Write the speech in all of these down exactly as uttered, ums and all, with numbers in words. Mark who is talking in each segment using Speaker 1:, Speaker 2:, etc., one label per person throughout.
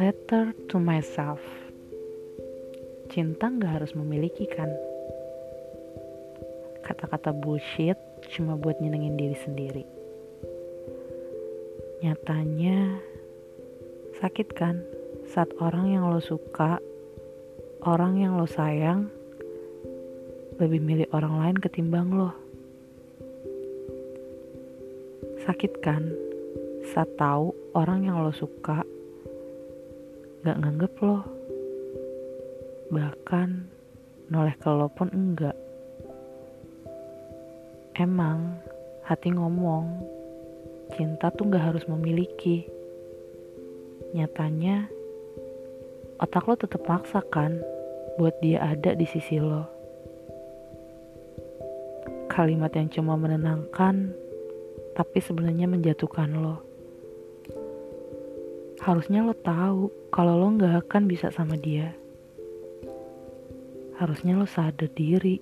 Speaker 1: Letter to myself. Cinta gak harus memiliki kan? Kata-kata bullshit cuma buat nyenengin diri sendiri. Nyatanya sakit kan saat orang yang lo suka, orang yang lo sayang lebih milih orang lain ketimbang lo. Sakit kan saat tahu orang yang lo suka gak nganggep lo, bahkan noleh ke lo pun enggak. Emang hati ngomong cinta tuh gak harus memiliki. Nyatanya otak lo tetap maksa kan buat dia ada di sisi lo. Kalimat yang cuma menenangkan tapi sebenarnya menjatuhkan lo. Harusnya lo tahu kalau lo gak akan bisa sama dia. Harusnya lo sadar diri.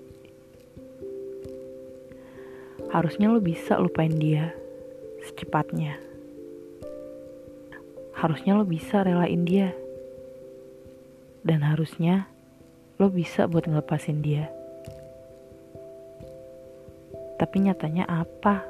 Speaker 1: Harusnya lo bisa lupain dia secepatnya. Harusnya lo bisa relain dia. Dan harusnya lo bisa buat ngelepasin dia. Tapi nyatanya apa?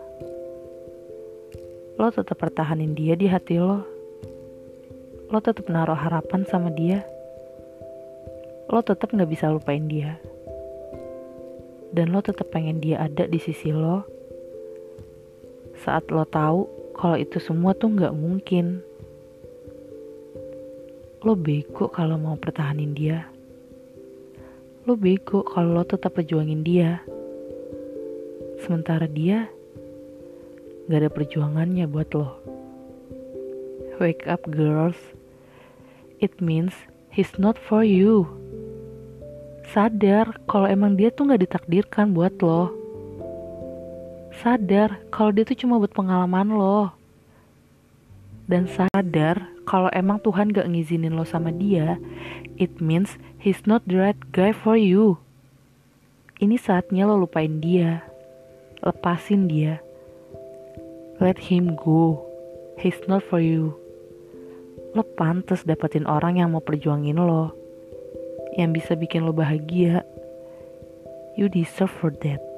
Speaker 1: Lo tetap pertahanin dia di hati lo. Lo tetap naruh harapan sama dia. Lo tetap gak bisa lupain dia. Dan lo tetap pengen dia ada di sisi lo saat lo tahu kalau itu semua tuh gak mungkin. Lo bego kalau mau pertahanin dia. Lo bego kalau lo tetap perjuangin dia. Sementara dia gak ada perjuangannya buat lo. Wake up girls. It means he's not for you. Sadar kalau emang dia tuh gak ditakdirkan buat lo. Sadar kalau dia tuh cuma buat pengalaman lo. Dan sadar kalau emang Tuhan gak ngizinin lo sama dia, it means he's not the right guy for you. Ini saatnya lo lupain dia. Lepasin dia. Let him go. He's not for you. Lo pantas dapetin orang yang mau perjuangin lo, yang bisa bikin lo bahagia. You deserve for that.